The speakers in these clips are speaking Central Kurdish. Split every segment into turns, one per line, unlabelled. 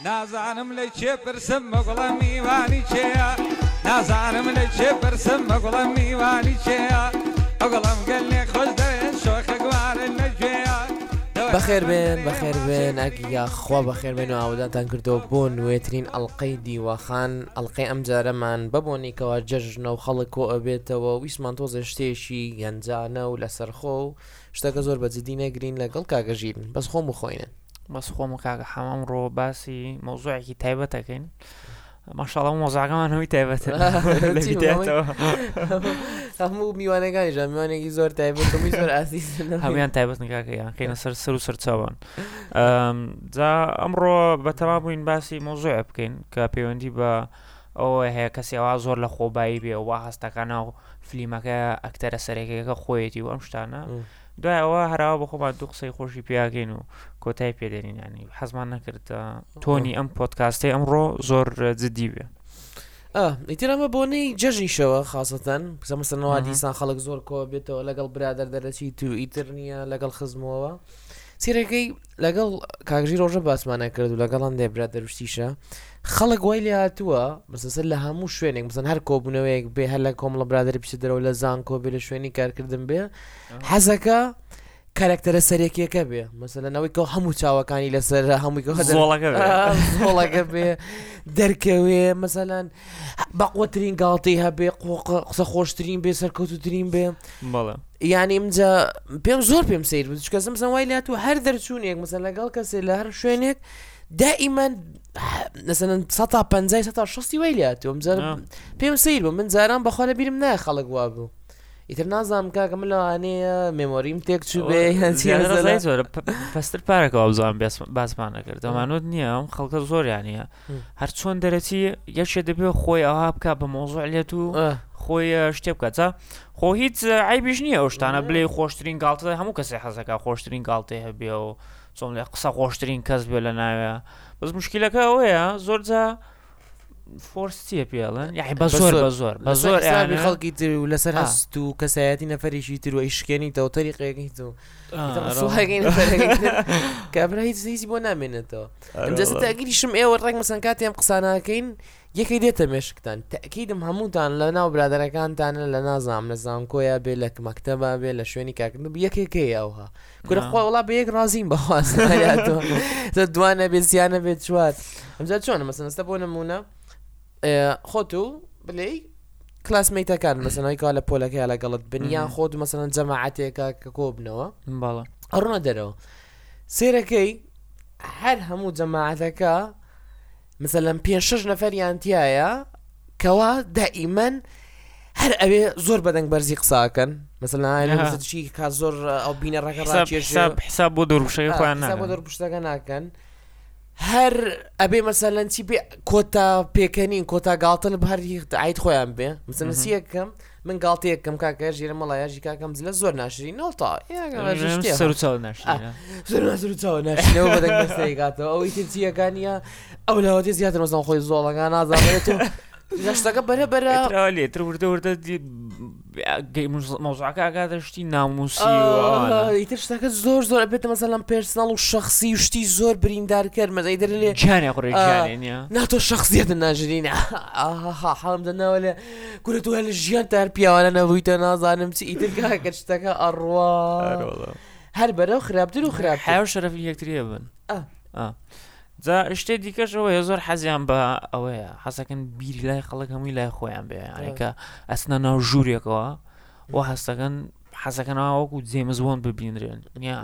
نازانم لە چێ پرسم مەگوڵە میوانی چێە نازانم لە چێ پرسم مەگوڵە میوانی چێە ئەگوڵم گەلێ خۆش دەوێن شۆخە گوارن لەگوێیە
بەخێر بێن ئەگیا خوا بەخێر بێن و ئاوداتان کردەوە بۆ نوێترین ئەڵلقەی دیوەخان ئەڵلقەی ئەم جارەمان ببوونیکەوە جەژنە و خەڵک کۆ ئەبێتەوە ویسمان تۆزە شتێشی گەنجانە و لەسەرخۆ و شتەکە زۆر بەجددی نەگرین لەگەڵ کاگەژیرن بەس خۆم بخۆینن
بەس خۆم و کاگە حەمام ڕۆ باسی مۆزوعێکی تایبەتەکەین ماشاءڵڵا مۆزاگەمان هەوی تایبەتە
هەموو میوانەکانیشان میوانێکی زۆر تایبەت و زۆر ئاسیس
هەمویان تایبەتن کاکەیان خینە سەر و سەرچاوان جا ئەمڕۆ بەتەما بووین باسی مۆزوعە بکەین کە پەیوەندی بە ئەوە هەیە کەسی ئەوە زۆر لە خۆبایی بێ وا هەستەکانە و فلیمەکە ئەکتەرە سەرەکیەکە خۆیەتی و ئەم شتانە دوای ئەوە هەراوە بە خۆمان دوو قسەی خۆشی پیاگەین و کۆتای پێدێنین ینی حەزمان نەکرد تۆنی ئەم پۆدکاستەی ئەمڕۆ زۆر جددی بێ
ئیتر ئەمە بۆنەی جەژنیشەوە خاستەن مەسەڵەنەوە دیسان خەڵک زۆر کۆ بێتەوە لەگەڵ برادەر دەرەچیت و ئیتر نییە لەگەڵ خزمەوە سیرەکەی لەگەڵ کاگژی ڕۆژە باسمانە کرد و لەگەڵان دێ برادەروشتیشە خەڵک وای لێ هاتووە مەسەسەر لە هەموو شوێنێک مەسەن هەر کۆبوونەوەیەک بێ هەر لە کۆمەڵە برادەری پیشە دەرەوە لە زان کۆ بێ لە شوێنی کارکردن بێ حەزەکە کارکتەرە سەرێکیەکە بێ مەسەلەنەوەی کە هەموو چاوەکانی لەسەر هەمووی زۆڵەکە بێ دەرکەوێ مەسەلەن بەقوترین گاڵتەی هەبێ قسە خۆشترین بێ سەرکەوتوترین بێ یعنی ئەمجا پێم زۆر پێم سیر بوو چکە مەسەن وای لێ هاتووە هەر دەرچوونێک مەسەن لەگەڵ کەسێ لە هەر شوێنێک دائیمەن مثلا 150 وای لێ هاتووە پێم سیر بوو من جاران بەخوا لە بیرم نایە خەڵک وا بوو ئیتر نازانم کاکە من لەوانەیە مێمۆریم تێک چوو بێ
زۆر پەستر پارێکەوە بزانم باسمان نەکرد ئەمانوت نییە ئەم خەڵکە زۆریانە هەر چۆن دەرەچی یەکێ دەبێت خۆی ئەوها بکە بە مۆزوع لێت و خۆی شتێ بکات خۆ هیچ عیبیش نییە ئەو شتانە بڵێ خۆشترین گاڵتە هەموو کەسێ حەزەکە خۆشترین گاڵتەی هەبێ و چۆن لێ قسە خۆشترین کەس بێ لە ناوێ بەس مشکلەکە ئەوەیە زۆرجا فۆرسیە پێڵن یاحی بە زۆر
خەڵکی تر و لەسەر هەست و کەسایەتی نەفەرێکی تر و ئیشکێنیتەوە تەریقەکەی تو کابرا هیچ بۆ نامێنێتەوە ئەمجەسە تاگیریشم ئێوە ڕێک مەسەن کاتی ئەم قسانەکەین یەکەی دێتە مێشکتان تاکیدم هەمووتان لە ناو برادەرەکانتانە لە نازام لە زانکۆیە بێ لە مەکتەبە بێ لە شوێنی کاکردن یەکێکەیە ئەوها گورە خۆ وڵا بە یەک ڕازیم بەخواستە دوانە بێت زیانە بێت چوات ئەمجا چۆنە مەسەن ئەستە بۆ نمونە خۆت و بڵێ کلاسمیتەکان مەسەنەوەی کا لە پۆلەکەی لەگەڵت بنیان خۆت مەسەن جەماعەتێکە کە کۆبنەوە ئەڕۆنە دەرەوە سێرەکەی هەر هەموو جەماعەتەکە مثلەن 5-6 نەفەریان تایە کەوا دائیمەن هەر ئەوێ زۆر بەدەنگ بەرزی قساکەن مەسەلەن چی کا زۆر ئەو بینەڕەکە
حساب بۆ دەروشەکە خۆیان
بۆ دەرپشتەکە ناکەن هەر ئەبێ مەسەلەن چی بێ کۆتا پێکەنین کۆتا گاڵتە بە هەری عید خۆیان بێ مەسەلەن سیەکەم من گاڵتەیەکەم کاکە ژێرە مەڵایەژی کاکەم لە زۆر ناشرین نۆڵتا
سەرچاو
ناشرینەوە بەدەنگ بەستەیەکاتەوە ئەوەی تر چیەکانیە ئەو لەوەتی زیاتر مەسەڵ خۆی زۆڵەکان نازانێت و شتەکە بەرە
لێتر وردە مۆزوعەکە ئاگادەشتی ناموسی
ئیتر شتەکە زۆر ئەبێتە مەسەڵەن پێرسناڵ و شەخسی و شتی زۆر بریندار کرد مەزەی دەر لێ
جانێ قڕێ
ناتۆ شەخصیەتە ناژرینە حەڵم دەناوە لێ گورە تو هەر لە ژیان تار پیاوانە نەبوویتە نازانم چی ئیتر کاکە شتەکە ئەڕوا هەر بەرەو خراپتر و خراپ
حیاو شەرەفی یەکتریە بن جا شتێ دیکەش ئەوەیە زۆر حەزیان بە ئەوەیە حەزەکەن بیری لای خەڵک هەمووی لای خۆیان بێ یانێکە ئەسنە ناو ژوورێکەوە و حەزەکەنەوە وەکو جێمزبوون ببینرێن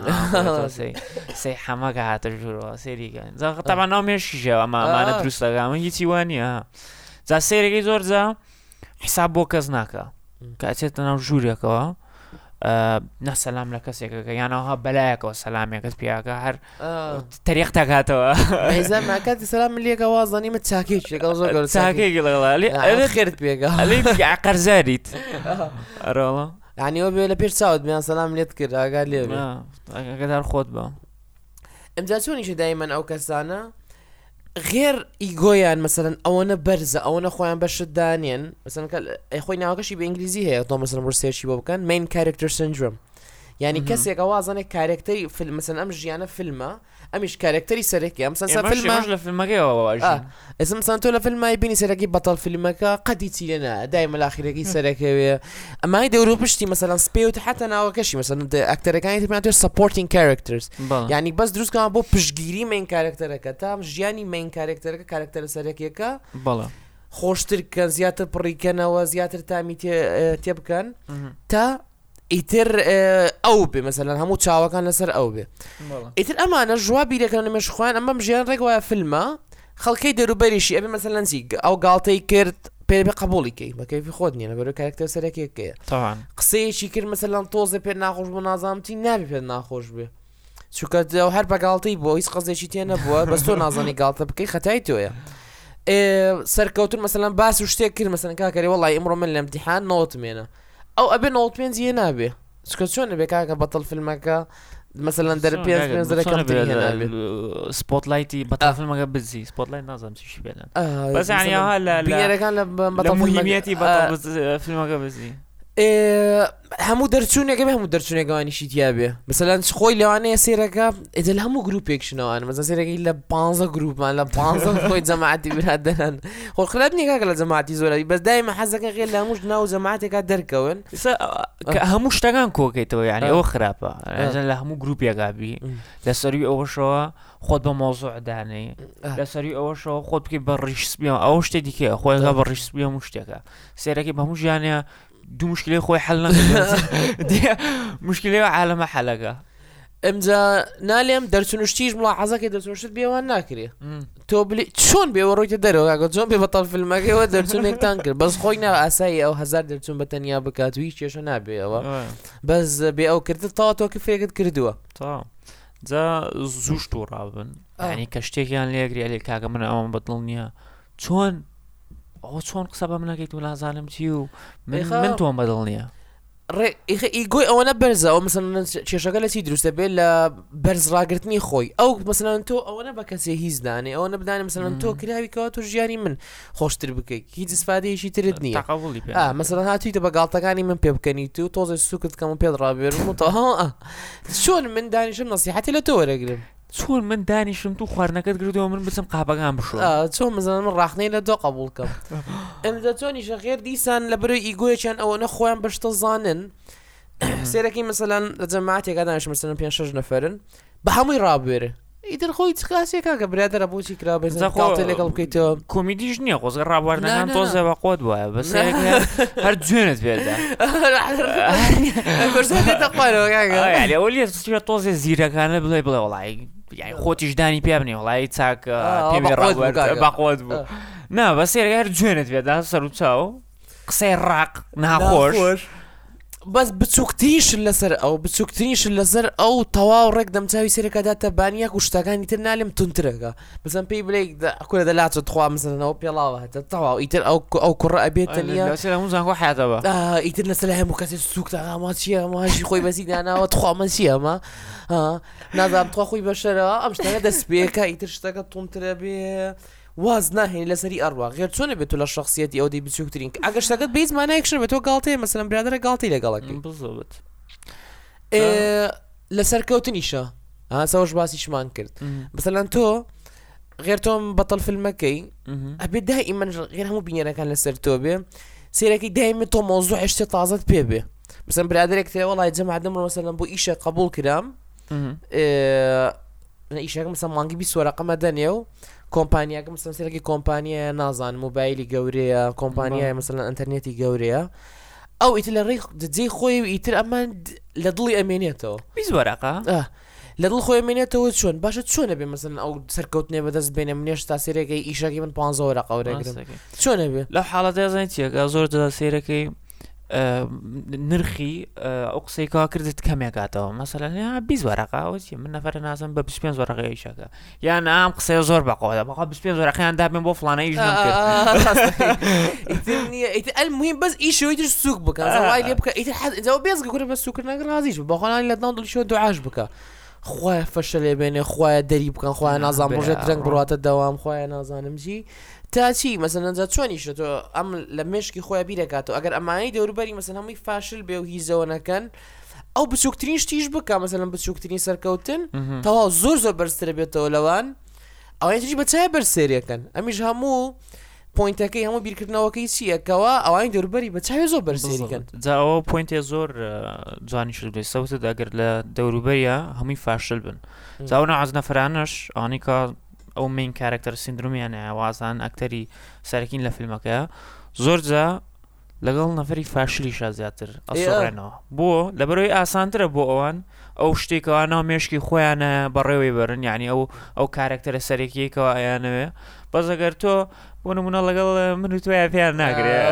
سەی حەمەکە هاتە ژوورەوە سێریکەن تاما ناو مێشیژەوە ئەمانە دروستەکە من هیچی وانە جا سێرەکەی زۆر جا حساب بۆ کەس ناکە کاتێتە ناو ژوورێکەوە نەسەلام لە کەسێکەکە یانەوەها بەلایەکەوە سەلامێکت پیاکە هەر تەریق تاکاتەوە
کاتی سەلام لێکە وازانیمە چاکێکی لەگەڵ زۆر
چاکێکی لەگەڵ
خێرت پێگە
قەرزاریت ئەرۆڵە
یعنیەوە بێ لە پێش چاوت بیان سەلام لێت کرد ئاگار لێ
ئەگەدار خۆت بە
ئەمجا چۆنیشە دایمەن ئەو کەسانە غێر ئیگۆیان مەسەرەن ئەوەنە بەرزە ئەوەنە خۆیان بەشت دانێن مەسەن خۆی ناوەکەشی بە ئینگلیزی هەیە تۆ مەسەرم ڕستێکی بۆ بکەن main character syndrome يعني کەسێک ئەوازانێک کارکتەری فیلم مثلا ئەم ژیانە فیلمە ئەمیش کارکتەری سەرەکی ئەم فیلمە
لە فیلمەکەیەوە
ئێستا مثلا تۆ لە فیلمای بینی سەرەکی بەتەڵ فیلمەکە قەدی چی لێنە دایمە لاخیرەکەی سەرەکەوێ ئەمای دەورۆ پشتی مثلا سپێوت حتا ناوەکەشی مثلا ئەکتەرەکانی تر supporting characters یعنی بەس دروستکەوە بۆ پشتگیری مین کارکتەرەکە تا ژیانی مین کارکتەرەکە کارکتەرە سەرەکیەکە خۆشتر کە زیاتر پڕیکەنەوە زیاتر تامی تێ بکەن تا ئیتر ئەو بێ مثلا هەموو چاوەکان لەسەر ئەو بێ ئیتر ئەمانە ژوا بیرەکەن لە مێشخوایان ئەمەم ژیان ڕێک وایە فیلمە خەڵکەی دەوروبەریشی ئەبێ مثلا چی ئەو گاڵتەی کرد پێ قبولیکەی بە کەیفی خۆت نیە لەبەرەوەی کارکتەر سەرەکیەکەیە قسەیەکی کرد مثلا تۆزە پێ ناخۆش بۆ نازانمتی نابێ پێ ناخۆش بێ چونکە هەر بە گاڵتەی بۆ هیچ قەزێکی تێ نەبووە بەس تۆ نازانی گاڵتە بکەی خەتای تۆیە سەرکەوتن مثلا باس و شتێک کرد مثلا کاکەری وەڵی ئەمڕۆ من لە ئیمتیحان نەوتمێنە ئەو ئەبێ 95 یە نابێ چکە چۆن بێ کاکە بەتەڵ فیلمەکە مثلا دەر 5
سپۆتلایتی بەتەڵ فیلمەکە بزی سپۆتلایت نازانم چیشی بێنن بەس یانیەوە لە بەتەڵ موهیمیەتی بەتەڵ فیلمەکە بزی
هەموو دەرچوونێکە بێ هەموو دەرچوونێکەوانیشی تیاابێ مثلەن خۆی لەوانەیە سێرەکە ئێدە لە هەموو گروپێکشنەوەوان مەزە سێرەکەی لە 15 گروپمان لە 15 خۆی جەماعەتی برادەرن خۆ خراپ نیە کاکە لە جەماعەتی زۆرەوی بەس دایمە حەزەکە غێر لە هەمووش ناو جەماعەتێکا دەرکەون
هەموو شتەکان کۆکەیتەوە یعنی ئەوە خراپە لە هەموو گروپێکابی لە سەروی ئەوەشەوە خۆت بە مۆزوع دانەی لە سەروی ئەوەشەوە خۆت بکەی بە ڕیشسبیەوە ئەو شتێ دیکە خۆیگا بە ڕیشسبیە هەموو شتێکە سێرەکەی بە هەموو ژیانە دوو مشکلی خۆی حل نەکرد مشکلی عالەمە حەلەکە
ئەمجا نالێم دەرچونشتیش مڵا حەزەکەی دەرچونشت بێوان ناکرێ تۆ چۆن بێوە ڕۆیتە دەرەوە چۆن بێ بەتەڵ فیلمەکەیەوە دەرچونێکتان کرد بەس خۆی ناو ئاسایی ئەو 1000 دەرچوون بە تەنیا بکات و هیچ کێشە نابێەوە بەس بێ ئەو کردت تاوا تۆ کفرێکت کردووە
جا زوو شت و ڕابن ینی کە شتێکیان لێگری لێ کاکە من ئەوم بەدڵ نییە چۆن قسە بە منەکەیت و لازانم چی و من تۆم بەدڵ نییە
ئیگۆی ئەوەنە بەرزەوە مثلا کێشەکە لە چی دروستە بێت لە بەرزڕاگررتنی خۆی ئەو مثلا تۆ ئەوەنە بە کەسێ هیچ دانێ ئەوە نەبدانێ مثلا تۆ کراویکەوە تۆ ژیانی من خۆشتر بکەیت هیچ استفادەیەکی ترت نییە مثلا هاتوویتە بە گاڵتەکانی من پێ بکەنیت و تۆزە سوکت کەم پێ ڕابێرم و چۆن من دانیشم نەسیحەتی لە تۆ وەرەگرم
چۆن من دانیشم تو خواردنەکەت گردەوە من بچم قاپەکان بشۆ
چۆن مزانم من ڕاخنەی لە دۆ قبولکەم ئەمدا چۆنیشە غێر دیسان لە بەرەوەی ئیگۆیەکیان ئەوەنە خۆیان بەشتە زانن سێرەکەی مثلەن لە جەماعەتێکا دانیش مثلەن 5-6 نەفەرن بە هەمووی ڕابێرە ئیتر خۆی چکاسێکا کە برادرە بۆچی کرا بێزەقاڵتە لەگەڵ بکەیتەوە
کۆمیدیش نییە خۆزگە ڕابواردنەکان تۆزە بە قۆت وایە بەس هەر جوێنت پێدا ئەولی تۆزێ زیرەکانە بڵێ بڵێ وڵی یعنی خۆتیش دانی پێ بنێ وڵی چاکە بەقۆت بوو نا بە سێرەکە هەر جوێنت پێدا سەر و چاو قسەی ڕاق ناخۆش
بەس بچووکتریشن لەسەر ئەو بچووکتریشن لەسەر ئەو تەواو ڕێک دەمچوی سێرەکەداتە بانیاک و شتەکانی تر نالێم تونترەکە بزەم پێی بڵێ کورە دەلاتە تخوا مزنەوە پێڵاوە هەتە تەواو ئیتر ئەو کوڕە ئەبێتە نیە
هەمووزانگۆ حیاتەوە
ئیتر لەسەر هەموو کەسێ سووکتە ئاما چییە ماژی خۆی بەسی داناوە تخوامە چیە ئەمە نازانم تخوا خۆی بەشەرەوە ئەم شتەکە دەست پێکە ئیتر شتەکە تونترە بێ واز ناهێنی لەسەری ئەڕوا غێر چۆنە بێت لە شخصیەتی ئەو دی بچووکترین ئەگەر شتەکەت بێت مانایەکشن بێت تۆ گاڵتەیە مەسەلەن برادرە گاڵتەی لەگەڵەکەی
بزۆبت
لەسەر کەوتنیشە سەوەش باسیشمان کرد مەسەلەن تۆ غێر تۆم بەتەڵ فیلمەکەی ئەبێ دائیمەن غێر هەموو بینەرەکان لەسەر تۆ بێ سێرەکەی دائیمە تۆ مۆزوع شتێ تازەت پێ بێ مەسەلەن برادرێک تێ وەڵی جەماعەت دەمڕۆ مەسەلەن بۆ ئیشە قبول کرام ئیشەکە مەسەلەن مانگی 20 وەرەقەمە دەنێ و کۆمپانیاکە مەسەلەن سێرەکی کۆمپانیایە نازان موبایلی گەورەیە کۆمپانیایە مەسەلەن ئینتەرنێتی گەورەیە ئەو ئیتر لە ڕێی دجێی خۆی و ئیتر ئەمان لە دڵی ئەمێنێتەوە
20 وەرەقە
لە دڵ خۆی ئەمێنێتەوە چۆن باشە چۆنە بێ مەسەلەن ئەو سەرکەوتنێ بەدەست بێنێ منێش تا سێرەکەی ئیشەکەی من 15 وەرەقە وەرەگرم چۆنە بێ
لەو حاڵەتە زانیت چیەکە زۆر دەدا سێرەکەی نرخی ئەو قسەیکەوە کردت کەمێکاتەوە مەسەلەن 20 وەرەقە ئەوچی من نەفەرە نازم بە 25 وەرەقەی ئیشەکە یان ئەم قسەیە زۆر بەقەوە بەخوا 25 وەرەقەیان دابێن بۆ فڵانە ئیش نەکرد
ئیتر المهم بەس ئیشەوەی تر سووک بکە زەوای لێ بکە ئیتر حەزەوە بێزگە کورە بە سووکردنەکە ڕازیش بەخۆنانی لە دڵ دڵیشەوە دوعاش بکە خوایە فەشە لێ بێنێ خوایە دەری بکەن خوایە نازان ڕۆژێت ڕەنگ بڕاتە دەوام خوایە نازانم چی تا چی مەسەلەن جا چۆنیشە تۆ ئەم لە مشکی خۆیان بیرەکاتەوە ئەگەر ئەمانەی دەوروبەری مەسەلەن هەمووی فاشل بێ و هیزەوە نەکەن ئەو بچووکترین شتیش بکە مەسەلەن بچووکترین سەرکەوتن تەواو زۆر بەرزترە بێتەوە لەوان ئەوانە تریش بە چای بەرسێریەکەن ئەمیش هەموو پوینتەکەی هەموو بیرکردنەوەکەی چیەکەوە ئەوانی دەوروبەری بە چاوی زۆر بەرسێریکەن
جا ئەوە پوینتێ زۆر جوانی شت بێت سەوتت ئەگەر لە دەوروبەریە هەمووی فاشل بن جاونە عەز نەفرانش ئەوانی کە ئەو مین کارکتەر سیندرومیان وازان ئەکتەری سەرەکین لە فیلمەکەیە زۆر جا لەگەڵ نەفەری فاشلیشە زیاتر ئەسۆڕێنەوە بۆ لەبەرەوەی ئاسانترە بۆ ئەوان ئەو شتێکەوە ناو مێشکی خۆیانە بەڕێوەی بەرن یعنی ئەو کارکتەرە سەرەکیەکەوە ئەیانەوێ بەس ئەگەر تۆ بۆ نمونە لەگەڵ من و توای پێیان ناگرێت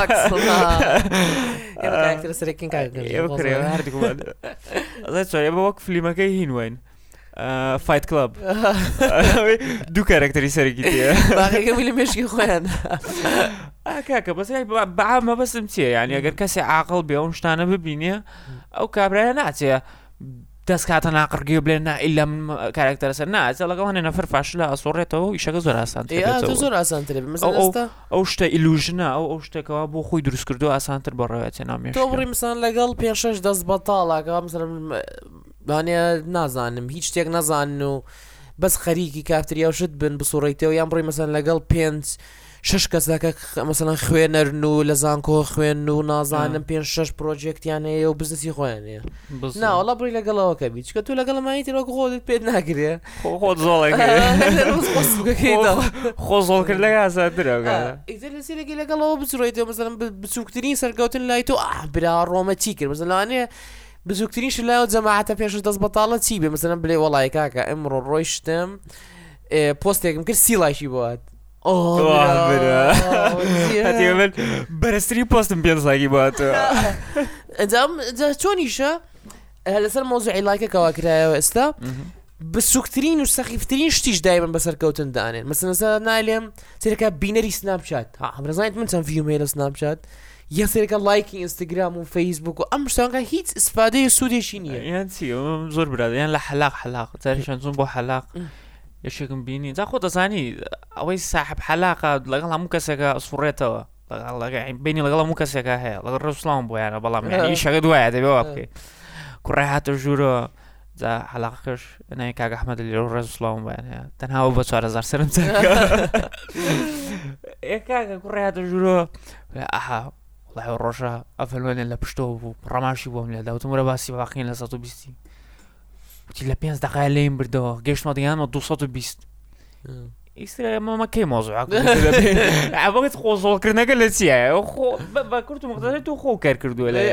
بە وەک فیلمەکەی هینوین فایت کلاب دوو کارکتەری سەرەکی تێ
باقیەکەی لە مێشکی خۆیان
کاکە بەس بەعامە بەسم چییە یعنی ئەگەر کەسی عاقڵ بێ ئەو شتانە ببینێ ئەو کابرایە ناچێ دەست کاتە ناقڕگی بڵێن ئیلا من کارکتەرە سەر ناچێ لەگەڵ هەنێ نەفەر فاشلە ئەسۆڕێتەوە ئیشەکە زۆر ئاسانتر
زۆر ئاسانترە
ئەو شتە ئیلوژنە ئەو شتێکەوە بۆ خۆی دروست کردو ئاسانتر بەڕێوێتێ نامێش
تۆ بڕی مثلا لەگەڵ 5-6 دەست بەتاڵاکە مثلا نازانم هیچ شتێک نەزانن و بەس خەریکی کافتریا و شت بن بسوڕیتەوە یان بڕی مثلا لەگەڵ 5-6 کەسەکە مثلا خوێنەرن و لە زانکۆ خوێن و نازانم 5-6 پرۆژێکتیان هەیە و بزنسی خۆیان هەیە ناوەڵا بڕی لەگەڵەوەکە بیت چکە تو لەگەڵ مایتیرۆک خۆت پێت ناگرێ
خۆت خۆ زۆڵکردلەکە ئاسانترە
ئیتر لە سێرەکی لەگەڵەوە بچڕیتەوە مثلا بچووکترین سەرکەوتن لای تۆ برا ڕۆمە چی کرد مثلا لەوانەیە بزووکترینش لایەوە جەماعەتە 5 دەست بەتاڵە چی بێ مثلا بڵێ وەڵای کاکە ئەمڕۆ ڕۆیشتم پۆستێکم کرد 30 لایکی بۆات
بەرزترین پۆستم 5 لایکی بۆاتەوە
چۆنیشە لەسەر مۆزوعی لایکەکەوا کرایەوە ئێستا بچووکترین و سەخیفترین شتیش دایمەن بەسەرکەوتن دانێن مثلا نالێم سێرەکە بینەری سناپچات هەمرەزانیت من چەند ڤیوم هەیە لە سناپچات یا سێرەکە لایکی ئینستاگرام و فەیسبوک و ئەم شتانکە هیچ ئسپادەی سوودێکی نییە
یان چی زۆر برادە یان لە حەلاق جاریشان چوون بۆ حەلاق یەشێکم بینی جا خۆ دەزانی ئەوەی ساحب حەلاقە لەگەڵ هەموو کەسێکە ئەسوڕێتەوە بینی لەگەڵ هەموو کەسێکە هەیە لەگەڵ ڕەسوڵام بۆیانە بەڵام ئیشەکە دوایە دەبێەوە بکەیت کوڕای هاتە ژوورەوە جا حەلاقەکەش نای کاک ئەحمەد لێرە ڕەسوڵام بۆیان هەیە تەنها بە 4000 سەرم کاکە کوڕای هاتە ژوورەوە ئاها والله ڕۆژە ئەفەلوێنێ لە پشتەوە بوو ڕەماشی بۆم لێدا وتم وەرە باسی باقین لە 120 وتی لە 5 دقایق لێم بردەوە گەشتمە دیانمە 220 ئیسرە مەمە کەی مۆزوعاک ئەوەت خۆزۆڵکردنەکە لە چییە بە کورت و مقدەر تو خۆ کار کردووە لە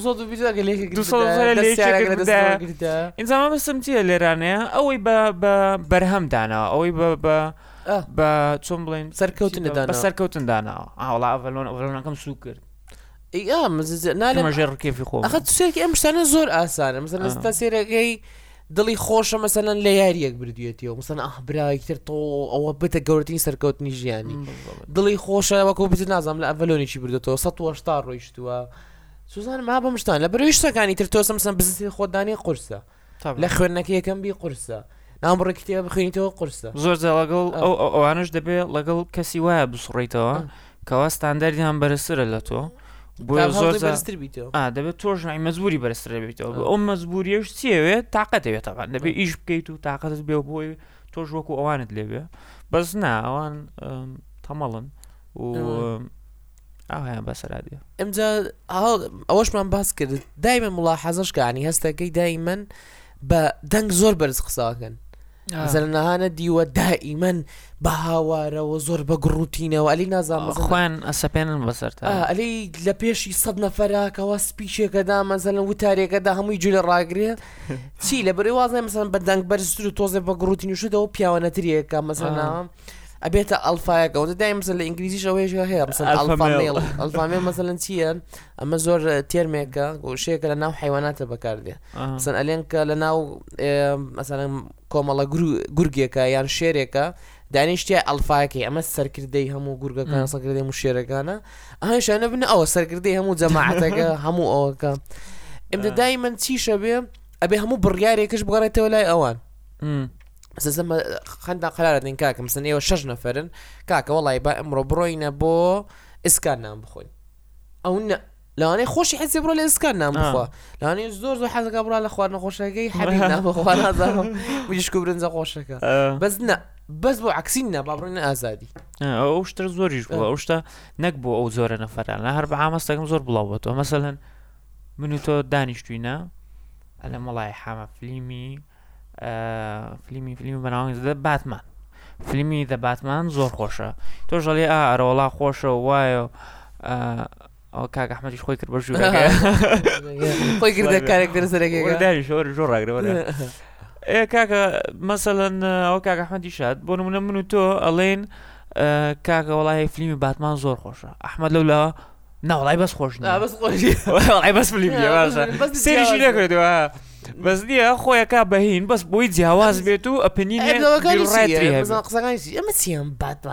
220
ئینجامە بەسم چییە لێرانەیە ئەوەی بە بەرهەم داناوە ئەوەی بە چۆن بڵێن
سەرکەوتن
داناوە ئاوڵا ئەڤەلۆنەکەم سوو کرد
نالێمەژێ
ڕکێفی خۆ
ئەخە سێرکی ئەم شتانە زۆر ئاسانە مثلا ئێستا سێرەکەی دڵی خۆشە مەسەلەن لە یاریەک بردوێتیەوە مثلا برایتر تۆ ئەوە بتە گەورەترین سەرکەوتنی ژیانی دڵی خۆشە وەکو بت نازانم لە ئەڤەلۆنێکی بردوێتەوە 180 ڕۆیشتووە سوزانم ها بەم شتان لە بەرەوەی شتەکانی تر تۆ مثلا بزنسی خۆدانی قورسە لە خوێندنەکە یەکەم بی قورسە نامڕێ کتێبە بخوێنیتەوە قورسە
زۆر لەگەڵ ئەوانش دەبێت لەگەڵ کەسی وایە بسوڕیتەوە کەوا ستاندەردیان بەرزترە لە تۆ زۆر دەبێت تۆش مەزبوری بەرزتر بێتەوە ئەو مەزبوریەش چیەوێت تااقەتەوێت تاقان دەبێت ئیش بکەیت و تااقەتت بێ بۆی تۆش وەکو ئەوانت لێبێ بەس نا ئەوان تەمەڵن و ئاهیان بەسەرادیە
ئەمجا ئەوەشمان باس کرد دایمە مڵاحەزەشکانی هەستەکەی دایمەن بە دەنگ زۆر بەرز قساکەن زەرنەهانە دیوە دائیمەن بە هاوارەوە زۆر بە گڕوتینەوە ئەلی نازانم
خوێن ئەسەپێنن بەسەرتا
ئەلی لە پێشی 100 نەفەراکەوە سپیچێکەدا مەزەلەن وتارێکەدا هەمووی جوولە ڕاگرێت چی لە بەرەی وازای مەسەلەن بە دەنگ بەرزتر و تۆزێ بە گڕوتینی شدەوە پیاوەنەتریەکە مەسەلەن ئەبێتە ئەلفایەکەەوە دای مەسەلەن لە ئینگلیزیش ئەوەیە هەیە مەسەلەن ئەلفامێڵ مەسەلەن چییە ئەمە زۆر تێرمێکە گۆشەیەکە لە ناو حیواناتە بەکاردێ مەسەلەن ئەلێن کە لە ناو مەسەلەن کۆمەڵە گورگێکە یان شێرێکە دانیشتە ئەلفاەکەی ئەمە سەرکردەی هەموو گورگەکان سەرکردەی و شێرەکانە ئاهشانە بنە ئەوە سەرکردەی هەموو جەماعەتەکە هەموو ئەوەکە ئێمە دایمەن چیشە بێ ئەبێ هەموو بڕیارێکش بگەڕێتەوە لای ئەوان خەندا قەرارە دێن کاکە مەسەلەن ئێوە 6 نەفەرن کاکە وەڵی با ئەمڕۆ بڕۆینە بۆ ئسکان نام بخۆین ئەو لاانێ خۆشی حسی بڕۆ لە ئسکان نام بخوا لاانێ زۆر حەزەکە بڕا لە خواردنە خۆشەکەی حەبی نابخوا نازانم ویشک و برنجە خۆشەکە بەس بۆ عکسینە با بڕۆینە ئازادی
ئەو شتە زۆریش بووە ئەو شتە نەک بۆ ئەو زۆرە نەفەران لە هەر بە ئاماستەکەم زۆر بڵاوەتەوە مەسەلەن من و تۆ دانیشتوینە ئەلە مەڵای حامە فلیمی بەناوی باتمان فلیمی دە باتمان زۆر خۆشە تۆ ژەڵێ ئەرەوەڵا خۆشە وایە ئەو کاک ئەحمەدیش خۆی کرد بە ژوورەکە
خۆی کردە کارێک دەرسەرەکەی
دانیش زۆر ڕاگرەوە کاکە مەسەلەن ئەو کاک ئەحمەدی شاد بۆ نمونە من و تۆ ئەڵێن کاکە وەڵای فلیمی باتمان زۆر خۆشە ئەحمەد لەولا ناوەڵای بەس خۆش وڵای بەس فلیمی باشە سێریشی نەکردەوە بەس نییە خۆیەکە بەهین بەس بۆی جیاواز بێت و ئەپنینێ
قسەکانی ئەمە چیان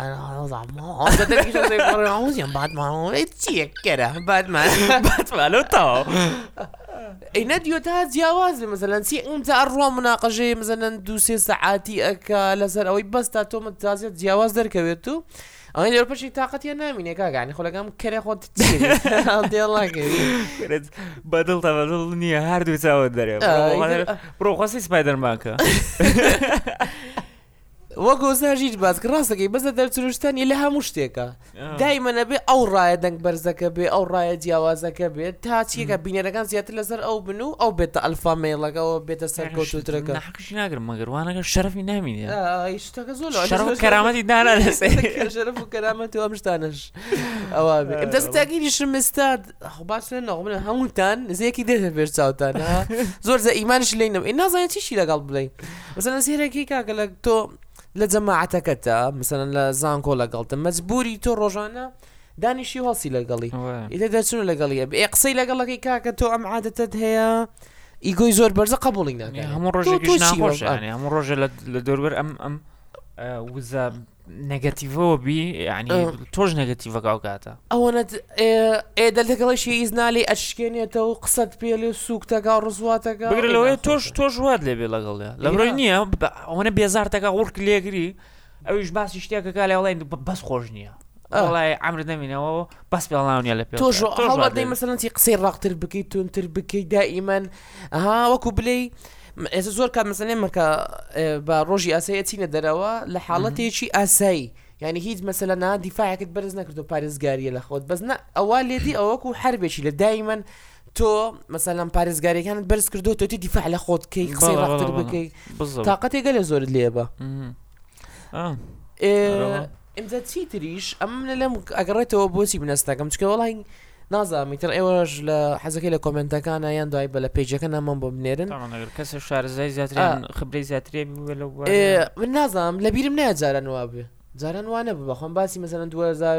باتمان باتمان چیەکەرە
باتمانەوە تاوە
ئەینە دیۆ تا جیاواز بێ مەسەلەن چی ئەمجا ئەڕوا مناقەژەیە مەسەلەن 2-3 سەعاتی ئەکا لەسەر ئەوەی بەس تا تۆمە تازێت جیاواز دەرکەوێت و ئەوەی لەوەپەشی تااقەتیان نامینێ کاگانی خۆلەکەم کەرێ خۆت
بەدڵ تا بەدڵ نییە هەردوو چاوت دەرێ بڕۆخواستی سپایدەرمانکە
وەکو زاژیت باسکە ڕاستەکەی بەزە دەرچروشتانی لە هەموو شتێکە دایمەنە بێ ئەو ڕایە دەنگ بەرزەکە بێ ئەو ڕایە جیاوازەکە بێت تا چیەکە بینەرەکان زیاتر لەسەر ئەو بن و ئەو بێتە ئەلفامێڵەکەەوە بێتە سەر کۆتوترەکە
نەحقیشی ناگرم مەگەروانەکە شەرەفی نامینێ
شتەکە زۆر
شەرەف و کەرامەتی دانا لەسەر
شەرەف و کەرامەت و ئەم شتانەش ئەوە بێ دەستاگیری شمستاد باشە نەڵبنە هەمووتان نزیەکی دێتە پێش چاوتان زۆر زە ئیمانش لێنم نازانێت چیشی لەگەڵ بڵێ مەسەلەن سێرەکەی کاکە لە تۆ لە جەماعەتەکەتە مثلەن لە زانکۆ لەگەڵتە مەجبوری تۆ ڕۆژانە دانیشی هەڵسی لەگەڵی ئیتر دەچون لەگەڵیە بێ قسەی لەگەڵەکەی کاکە تۆ ئەم عادەتت هەیە ئیگۆی زۆر بەرزە قبوڵی ناکە
هەموو ڕۆژێکیش ناخۆش هەموو ڕۆژە لە دەوروبەر ئەم وزە نەگەتیڤەوە بی یعنی تۆش نەگەتیڤەکە ئەو کاتە
ئەوەنەت دەلەگەڵیشی ئیزنالی ئەشکێنێتەوە و قسەت پێ لێ سووکتەکە ڕزواتەکە
بگرلەوەی تۆش وات لێبێ لەگەڵێ لەبڕۆی نییە ئەوەنە بێزارتەکە وڕک لێگری ئەویش باسی شتێکەکە لە وڵای بەس خۆش نییە وڵای ئەمر دەمینەوە بەس پێڵاونیە لە پێ
تۆش هەڵەدەی مەسەلەنتی قسەی ڕاقتر بکەیت تونتر بکەیت دائیمەن وەکو بلەی ئێستا زۆر کات مەسەلێمەکە بە ڕۆژی ئاسایی چینە دەرەوە لە حاڵەتێکی ئاسایی یعنی هیچ مەسەلەنا دیفاعەکەت بەرز نەکردو پارێزگاریە لە خۆت بەس ئەوە لێدی ئەوەکو هەربێکی لە دائیمەن تۆ مەسەلەن پارێزگاریەکانت بەرز کردو تۆتی دیفاع لە خۆت کەی قسەی ڕاقتر بکەی تااقەتێکە لە زۆرت لێبە ئەمجا چی تریش ئەم لەم ئەگەڕێتەوە بۆچی بنەستەکەم چکە وڵی نازانیتر ئێوەش لە حەزەکەی لە کۆمنتەکانە یان دوای بە لە پیجەکە نامان بۆ بنێرن
کەسە شارزای زیاتریان خبرەی زیاترێ
من نازانم لە بیرم نایە جاران وا بێ جاران وانە بخۆم باسی مەسەلەن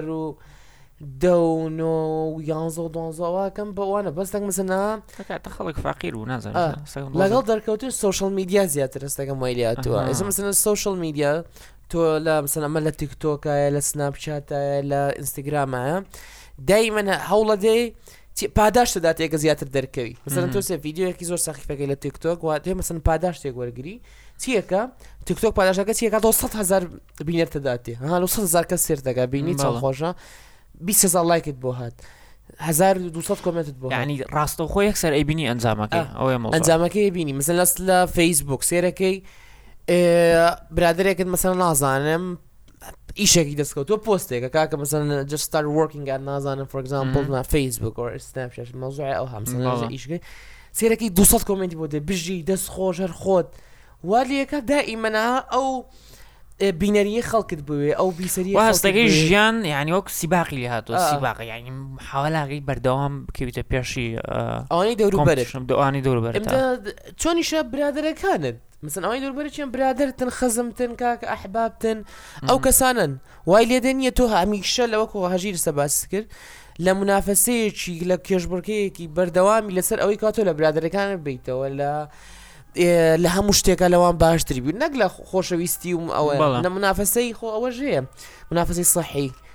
2011-12 بەوانە بەستەک مەسەنا
خەڵک فاقیر و نازانم
لەگەڵ دەرکەوتن سوشال میدیا زیاتر هەستەکەم وایلیاتوە ئێستا مەسەلەن سوشال میدیا تۆ لە مەسەلەن ئەمە لە تیکتۆکایە لە سناپچاتایە لە ئینستاگرامایە دایمەن هەوڵە دێ پاداش دەداتێکە زیاتر دەرکەوی مەسەلەن تۆ ڤیدیۆیەکی زۆر سەخیفەکەی لە تیکتۆک وا دێ مەسەلەن پاداش تێک وەرگری چیەکە تیکتۆک پاداشەکە چیەکە 100,000 بینەر دەداتێ 100,000 کەس سێر دەکا بینی چەند خۆشە 20,000 لایکت بۆ هات 1200 کۆمنتت بۆ
یعنی ڕاستە خۆ یەکسەر ئەیبینی ئەنجامەکەی
ئەنجامەکەی بینی مەسەلەن لە فەیسبوک سێرەکەی برادرێکت مەسەلەن نازانم ئیشێکی دەستکەوت تۆ پۆستێکە کاکە مەسەلەن just start working at نازانم for example فەیسبوک or Snapchat مەوزوعی ئەو هەمسەلەن ئیشەکەی سێرەکەی 200 کۆمنتی بۆ دێ بژی دەست خۆش هەر خۆت والیەکە دائیمەنە ئەو بینەریە خەڵکت بوێ ئەو بیسەری
هەستەکەی ژیان یعنی وەک سیباقی لێ هاتووە سیباقی یعنی حاوەلاگەی بەردەوام بکەویتە پێشی
ئەوانی دەوروبەرت
دوانی دەوروبەرت
چۆنیشە برادەرەکانت مثلا ئەوانی دەوروبەرت چیان برادرتن خەزمتن کاکە ئەحبابتن ئەو کەسانن وای لێدە نییە تۆ هەمیشە لەوەکو هەژیر سە باس کرد لە منافەسەیەکی لە کێشبڕکەیەکی بەردەوامی لەسەر ئەوەی کاتۆ لە برادەرەکانت بیتەوە لە هەموو شتێکە لەوان باشتری بوو نەک لە خۆشەویستی و ئەوە لە منافەسەی خۆ ئەوە ژەیە منافەسەی سەحی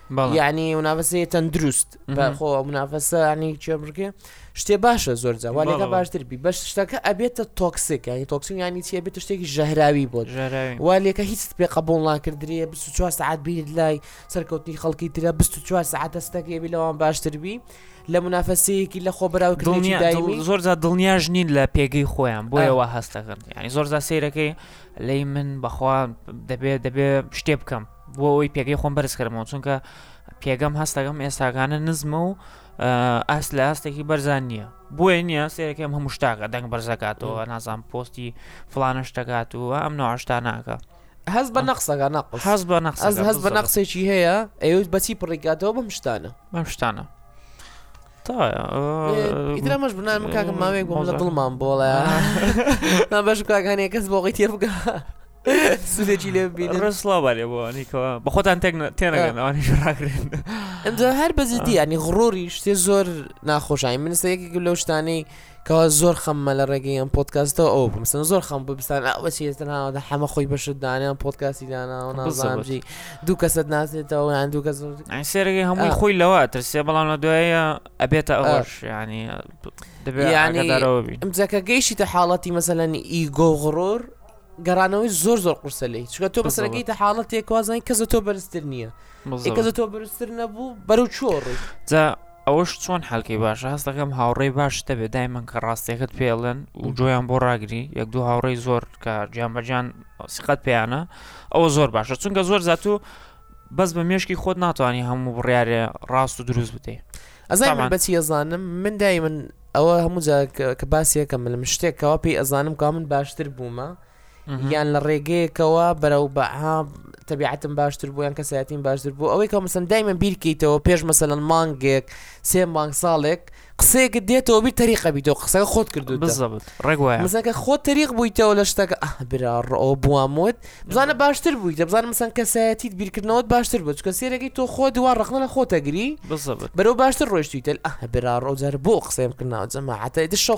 يعني منافسة تندروست بخو منافسة يعني شو بركي شتي باشا زور جا ولی که باش تربی باش شتاك أبيت توكسيك يعني توكسيك يعني تي أبيت تشتكي جهراوي بود ولی که هیچ تبي قبول لا كردري بس 4 ساعات بيد لاي سركوتني خلقي ترى بس 4 ساعات استكي بلوان باش تربي لمنافسة كي لخبراء وكذي دايمي
زور زاد دنيا جنين لا بيجي خويا بويا وهستغن يعني زور زاد سيركي لي من بخوا دبي شتي بكم بوي بيجي خون برس كرمون چونکە پێگەم هەستەکەم ئێستاکانە نزمە و ئاس لە ئاستێکی بەرزان نییە بۆیە نییە سێرەکەم هەموو شتاکە دەنگ بەرزەکاتەوە نازان پۆستی فڵانە شتەکات و ئەم نەوەشتا ناکە
هەز بە نەقسەکە نەقس هەز بە نەقسێکی هەیە ئەوە بەچی پڕێکاتەوە بەم شتانە ئیترا مەش بنامە کاکەم ماوەیەک بۆم لە دڵمان بۆڵە نابەش کاکانی کەس بۆ غی تێر بکە سودێکی لێ ببینن
ڕسڵاوە لێ بۆوانیکەوە بە خۆتان تێنەگەن ئەوانیش ڕاکرێن
ئەمجا هەر بەزیدی ینی غڕۆری شتێ زۆر ناخۆشایی من سەیەکێک لەو شتانەی کەوا زۆر خەممە لە ڕێگەی ئەم پۆدکاستەوە ئەو بمسن زۆر خەم ببستان ئەوە چێتەناوەدا هەمە خۆی بەشت دانیان پۆدکاستی داناوە نازانجی دوو کەسەت ناسێتەوە یان دوو کەس
سێرەگەی هەمووی خۆی لەوە ترسێ بەڵام لە دوایە ئەبێتە ئەوەش ینی دەبێت
ئەمجاکە گەیشتە حاڵەتی مەسەلەن ئیگۆ غڕۆر گەڕانەوەی زۆر قورسە لێ چکە تۆ بەسەرەکەی تە حاڵەتێک وازانی کەسە تۆ بەرزتر نییە کەسە تۆ بەرزتر نەبوو بەرەو چۆڕی
جا ئەوەش چۆن حەلکەی باشە هەست دەکەم هاوڕێی باش دەبێت دایمەن کە ڕاستیەکەت پێڵێن و جۆیان بۆ ڕاگری یەک دوو هاوڕێی زۆر کە گیان بەجان سقەت پێیانە ئەوە زۆر باشە چونکە زۆر زاتوو بەس بە مێشکی خۆت ناتوانانی هەموو بڕیارێ ڕاست و دروست بتێ
ئەزای من بەچی ئەزانم من دایمەن ئەوە هەموو جا کە باسیەکەم لەم شتێکەوە پێی ئەزانم کا من باشتر بوومە یان لە ڕێگەیەکەوە بەرەو بەها تەبیعەتم باشتر بوو یان کەسایەتیم باشتر بوو ئەوەی کە مەسەن دایمەن بیرکەیتەوە پێش مەسەلەن مانگێک 3 مانگ ساڵێک قسەیەکت دێتەوە بیر تەریقە بیتەوە قسەکە خۆت کردو
بالضبط ڕێگوایە
مەسەکە خۆت تەریق بوویتەوە لە شتەکە برا ڕۆ بووامۆت بزانە باشتر بوویتە بزانە مەسەن کەسایەتیت بیرکردنەوەت باشتر بوو چکە سێرەکەی تۆ خۆ دووار ڕخنە لە خۆتەگری بەرەو باشتر ڕۆیشتیتە برا ڕۆجار بۆ قسەیم کردنەوە جەماعەتە دشۆ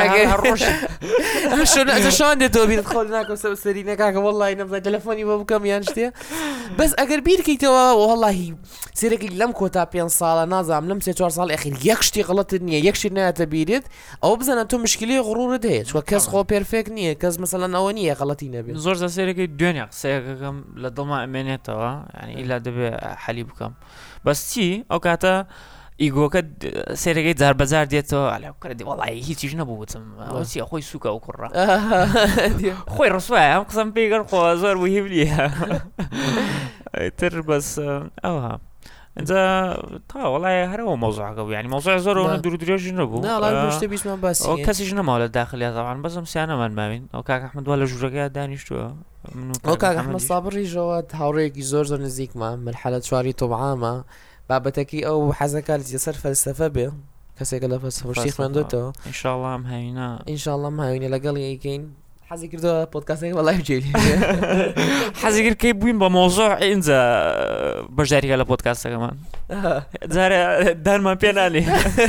شۆن دێتەوە بیرت خۆ ناکەم سەرینەکەکە وەڵی نەبزای تەلەفۆنی بۆ بکەم یان شتێ بەس ئەگەر بیرکەیتەوە وەڵی سێرەکەی لەم کۆتا 5 ساڵە نازام لەم 3-4 ساڵ ئەخیر یەک شتی غڵەتت نییە یەک شت نایەتە بیرت ئەو بزانە تۆ مشکلی غڕورت هەیە چوە کەس خۆ پێرفێک نییە کەس مەسەلەن ئەوە نییە غەڵەتی نەبێت
زۆر زە سێرەکەی دوێنێ قسەیەکەکەم لە دڵما ئەمێنێتەوە ینی ئیلا دەبێ حەلی بکەم بەس چی ئەو کاتە ئیگۆکە سێرەکەی جار بەجار دێتەوە ئەلێکردی وەڵی هیچیش نەبووتم ئەوچی خۆی سوکە و کوڕە خۆی ڕسوایە ئەم قسەم پێیگەر خۆ زۆر وهیبلیە تر بەس ئەوها اینجا تا وڵای هەرەوە مۆزوعەکە بوو ینی مۆزوع زۆرەوە دوورودرێژ نەبوو ئەو کەسیش نەماوە لە داخلی زەوان بەسم سیانەمان ماوین ئەو کاک ئەحمەد وا لە ژوورەکە دانیشتووە
ئەو کاک ئەحمەد سابریژەوە هاوڕێیەکی زۆر نزیکمە مرحلە 4 تۆبعامە بابەتەکی ئەو حەزەکە لەسەر فەلسەفە بێ کەسێکە لە فەلسەفەشتی خوێندوێتەوە
ئینشاءڵڵا ئەم هاوینە
ئینشاءڵڵا ئەم هاوینە لەگەڵی ئەیکەین حەزی کردەوە پۆدکاستێک وەڵای بجێری
حەزی کرد کەی بووین بە مۆزوع ئینجا بەشداریکە لە پۆدکاستەکەمان جارێ دارمان پێ نانێ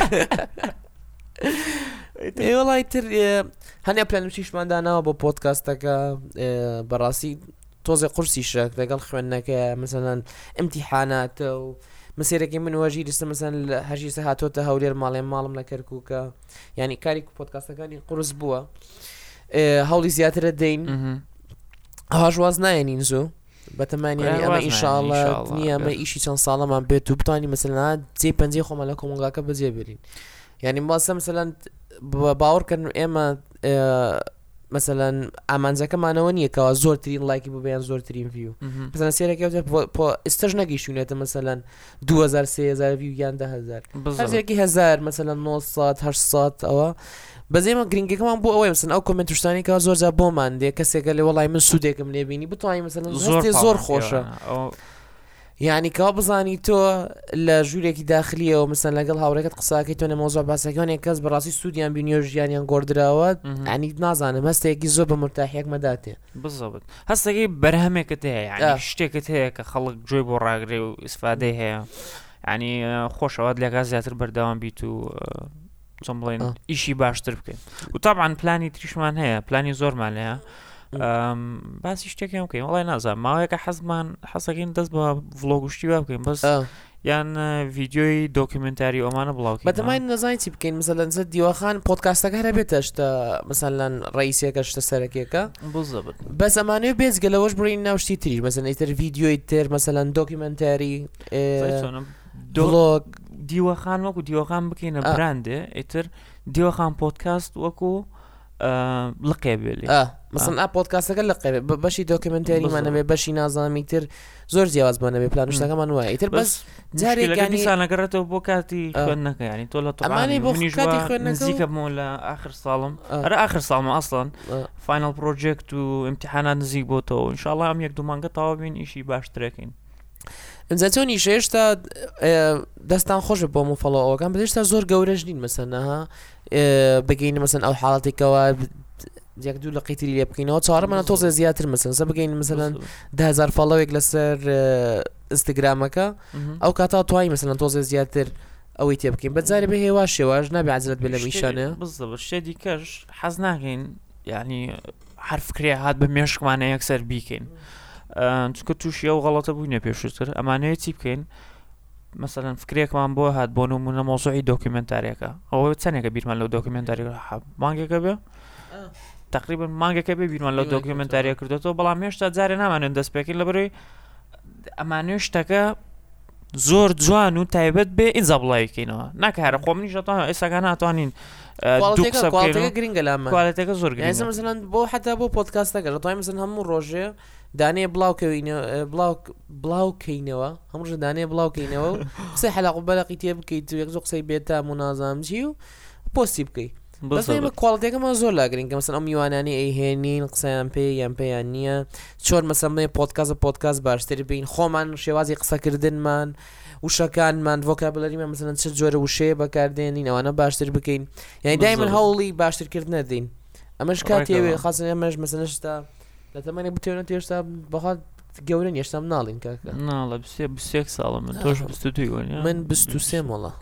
وەڵای تر هەنێ پلانوچیشمانداناوە بۆ پۆدکاستەکە بەڕاستی تۆزێ قورسیشە لەگەڵ خوێندنەکە مەسەلەن ئیمتیحاناتە و مسیرێکی من وەژی دەستە مەسەن هەژی سە هاتۆتە هەولێر ماڵم لە کەرکووکە ینی کاری پۆدکاستەکانی قورس بووە هەوڵی زیاترە دەین هاژواز نایەنین زوو بەتەمانیانی ئەمە ئینشاءڵڵا نییە ئەمە ئیشی چەند ساڵەمان بێت و بتوانانی مەسەلەن جێ پەنجەی خۆمان لە کۆمەڵگاکە بەجێ بێرین ینی ماسە مەسەلەن باوەڕکردن ئێمە مەسەلەن ئامانجەکەمانەوە نییە کەوا زۆرترین لایکی ببیان زۆرترین ڤیو مەسەلەن سێرەکە ئێستش نەگەیشتونێتە مەسەلەن 2000 3000 ڤیو یان 10000 هەرێکی 1000 مەسەلەن 900 800 ئەوە بەزێمە گرنگەکەمان بۆ ئەوەی مەسەن ئەو کۆمنت شتانی کە زۆر جا بۆمان دێ کەسێکە لێ وەڵای من سوودێکم لێبینی بتوانین مەسەلەن زۆر خۆشە یعنی کەوا بزانی تۆ لە ژوورێکی داخلیەوە مەسەن لەگەڵ هاوڕێکت قساکەی تۆ نەمەوزوع باسەکانی کەس بەڕاستی سوودیان بینی و ژیانیان گۆڕدراوە ینی نازانم هەستێکی زۆر بە مرتاحیەک مەداتێ
بزەبت هەستێکی بەرهەمێکت هەیە ینی شتێکت هەیە کە خەڵک گوێی بۆ ڕاگرێ و ئیسفادەی هەیە ینی خۆشەوە لێگا زیاتر بەردەوام بیت و چۆن بڵێن ئیشی باشتر بکەین و تابعاً پلانی تریشمان هەیە پلانی زۆرمان هەیە باسی شتێکیان بکەین وڵای نازانم ماوەیەکە حەزەکەین دەست بە ڤڵۆگ و شتی وا بکەین بەس یان ڤیدیۆی دۆکیومنتاری ئەمانە بڵاوکەین
بەتەمای نەزانین چی بکەین مەسەلەن دیوەخان پۆدکاستەکە هەرە بێتە شتە مەسەلەن ڕئیسێکە شتە سەرەکیەکە بەس ئەمانەیە بێزگە لەوەش بڕین ناوشتی تریش مەسەلەن ئیتر ڤیدیۆی تر مەسەلەن دۆکیومنتاری ڤڵۆگ
دیوەخان وەکو دیوەخان بکەینە براندێ ئیتر دیوەخان پۆدکاست وەکو لقێ بێ
مثلا پۆدکاستەکە لە بەشی دۆکیومنتاریمانەبێ بەشی نازانامی تر زۆر جیاوازمانەبێ پلانشتەکەمان وایە ئیتر بەس
جارێکانیسانەگەڕێتەوە بۆ کاتی خوێندنەکە ینی تۆ لە نزیکە بمەوە لە آخر ساڵم ئەرە آخر ساڵمە ئەسڵان فاینەڵ پرۆجێکت و ئیمتیحانات نزیک بۆتەوە ئینشاڵڵا ئەم یەک دوو مانگە تەواو بین ئیشی باشترەکەین
ئەمجا چۆنی هێشتا دەستان خۆشە بۆ مفەڵۆوەکان بەهێشتا زۆر گەورەش نین مەسەنەها بگەین مەسەن ئەو حاڵاتێکەوە یەک دوو لە قیتری لێ بکەینەوە چاڕەمانە تۆزە زیاتر مەسەن سە بگەین مەسەلەن 10,000 فەڵۆوێک لەسەر ئینستاگرامەکە ئەو کاتا توای مەسەلەن تۆزە زیاتر ئەوەی تێ بکەین بەجارێ بە هێوا شێواش نابێ عەجەلەت بێ لە میشانە
بزەبە شتێکی کەش حەز ناکەین یعنی هەر فکرێ هات بە مێشکمانە یەکسەر بیکەین چونکە تووشی ئەو غەڵەتە بووینە پێشووتر ئەمانەیە چی بکەین مثلا فکرێکمان بۆ هات بۆ نمونە مۆزوعی دۆکیومنتاریەکە ئەوە چەندێکە بیرمان لەو دۆکیومنتاریەکە مانگێکە بێ تقریبا مانگێکە بێ بیرمان لەو دۆکیومنتاریە کردێتەوە بەڵام هێشتا جارێ نامانێن دەست پێکەین لەبەرەوەی ئەمانەیە شتەکە زۆر جوان و تایبەت بێ ئینجا بڵاوی بکەینەوە ناکە هەرە خۆ منیش دەتوانین ئێستاکان ناتوانین
گرنگە لامە
کوالێتەکە زۆر گرنگە
مثلا بۆ حتا بۆ پۆدکاستەکە دەتوانین مثلا هەموو ڕۆژێ دانەیە بڵاوکەینەوە هەموو ڕۆژە دانەیە بڵاوکەینەوە و قسەی حەلاق و بەلاقی تێ بکەیت و یەک زۆر قسەی بێتام و نازانجی و پۆستی بکەیت بەس ئێمە کوالڵتێکەکەمان زۆر لاگرین کە مەسەن ئەم میوانانی ئەیهێنین قسەیان پێ یان پێیان نییە چۆن مەسەڵێ پۆدکاست باشتر بین خۆمان شێوازی قسەکردنمان وشەکانمان ڤۆکابلەریمان مەسەلەن چ جۆرە وشەیە بەکاردێنین ئەوانە باشتر بکەین یعنی دایمەن هەوڵی باشترکردن نەدەین ئەمەش کاتێوێ خاصن ئەمەش مەسەلەن شتا لە تەمانێک بتێنێت هێشتا بەخات گەورە نیشتام ناڵین کاکە
ناڵە 21 ساڵە من تۆش 22
من 23 مۆڵە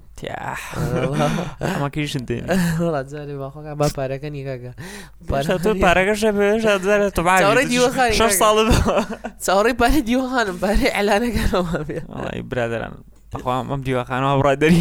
ئەمەکەیشن دێن
جارێ باخۆکە با پارەکەنی کاکە
پارەکەشە بێژارە ساڵ
چاوەڕێی پارەی دیوەخانم پارەی ئەلانەکانەوە بێ
برادران بەخوام ئەم دیوەخانەوە بڕادەری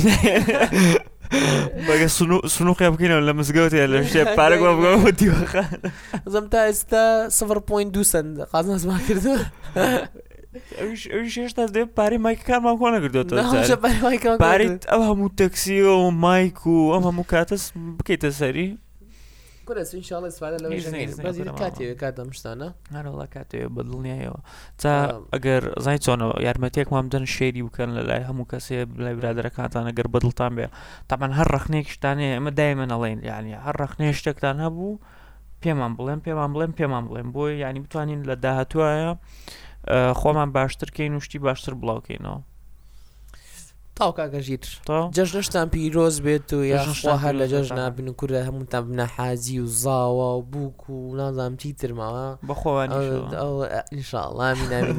بەگە سنووقی بکەینەوە لە مزگەوتێ لە شتێ پارەگوە بگەوە دیوەخان
زەم تا ئێستا 0.2 سنت قازنەزمان کردووە
ئەویش هێشتا دێ پارەی مایکەکانمان کۆ نەکردوێتەوە پارەیت ئەو هەموو تەکسیەوە و مایک و ئەم هەموو کاتەس بکەیتە سەری
انشاءالله استفاده لەوەی کاتێوێ کاتەم شتانە
هەرڵا کاتێوێ بەدڵنیایەوە تا ئەگەر زای چۆنەوە یارمەتێکمان بدەن شێری بکەن لە لای هەموو کەسێ لای برادەرەکانتان ئەگەر بەدڵتان بێ تامان هەر ڕەخنەیەک شتانەیە ئەمە دایمەن ئەڵێن یعنی هەر ڕەخنەیە شتێکتان هەبوو پێمان بڵێن بۆی یعنی بتوانین لە داهاتوایە خۆمان باشترکەین و شتی باشتر بڵاوکەینەوە
تاو کاکەژیر جەژنشتان پیرۆز بێت و یاخوا هەر لە جەژنا بن و کورە هەمووتان بنە حازی و زاوە و بووک و نازانم چی ترماوە
بەخۆوانی
ئینشاءڵڵا ئامین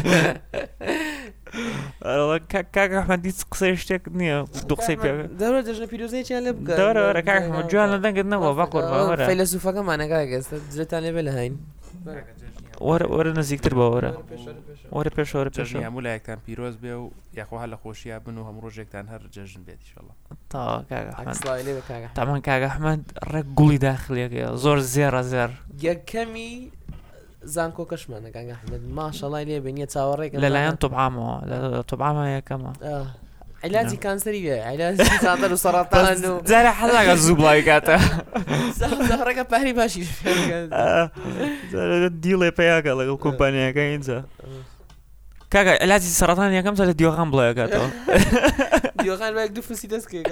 کاکە ئەحمەدی قسەی شتێک نییە دوو قسەی پێ
دەورە جەژنە پیرۆزەیەکیان لێ بکە
دەورە کاکە جوان لە دەنگت نەبووە باقۆر باوەرە
فەیلسوفەکەمانە کاکە ئێستا درێتان لێ بێ لە هاین
وەرە نزیکتر بە وەرە پێشەوە
هەموو لایەکتان پیرۆز بێ و یاخوا لە خۆشییا بن و هەموو ڕۆژێکتان هەر جەژن بێت ئینشاءڵڵا
تامان کاکە ئەحمەد ڕێک گوڵی داخلیەکەیە زۆر زێر
یەکەمی زانکۆ کەشمانە کاکە ئەحمەد ماشەڵڵای لێ بێنیە چاوەڕێک
لەلایەن تۆبعامەوە لە تۆبعامە یەکەمە
علاجی کانسەری بێ علاجی ساتەر و سەرەتان و
جارە حەڵاگە زوو بڵاوی کاتە
زەهڕەکە پاری باشی
دیڵێ پێیاکە لەگەڵ کۆمپانیەکە اینجا کاکە علاجی سەرەتان یەکەم جا لە دیوەخان بڵاوی کاتەوە
دیوەخان بە یەک دوو فسی دەستکێک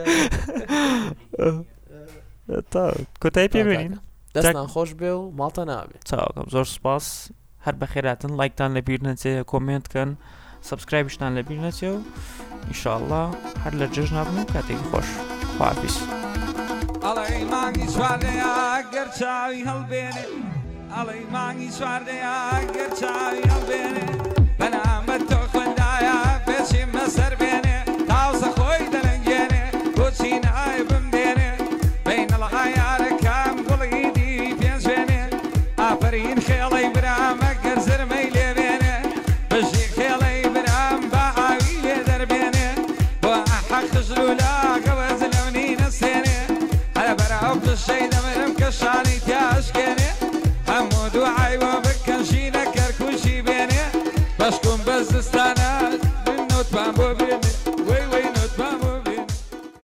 تا کۆتایی پێبێنین
دەستان خۆش بێ و ماڵتە نابێ
چاوەکەم زۆر سپاس هەر بەخێراتن لایکتان لەبیر نەچێ کۆمنتکەن سبسکرایبشتان لەبیر نەچێ و ئینشاءڵڵا هەر لە جەژن نابن و کاتێکی خۆش خواحافیز
ئەڵێ مانگی سواردەیە گەر چاوی هەڵبێنێ ئەڵێ مانگی سواردەیە گەر چاوی هەڵبێنێ بەنامەت تۆ خوێندایە بێچیمە سەر بێنێ تاوسە خۆی دەلەنگێنێ بۆچی نایە بمدێنێ بینەڵە ئایارەکەم گوڵی دی پێنجێنێ ئاپە ئافرین خێڵەی برامە گەرزر مەی لێبێنێ بژی خێڵەی برام بە ئاوی لێ دەربێنێ بۆ حەق خژل و لاگەوەز لەمنی نەسێنێ هەرە بەراو پشەی دەمرم کە شانی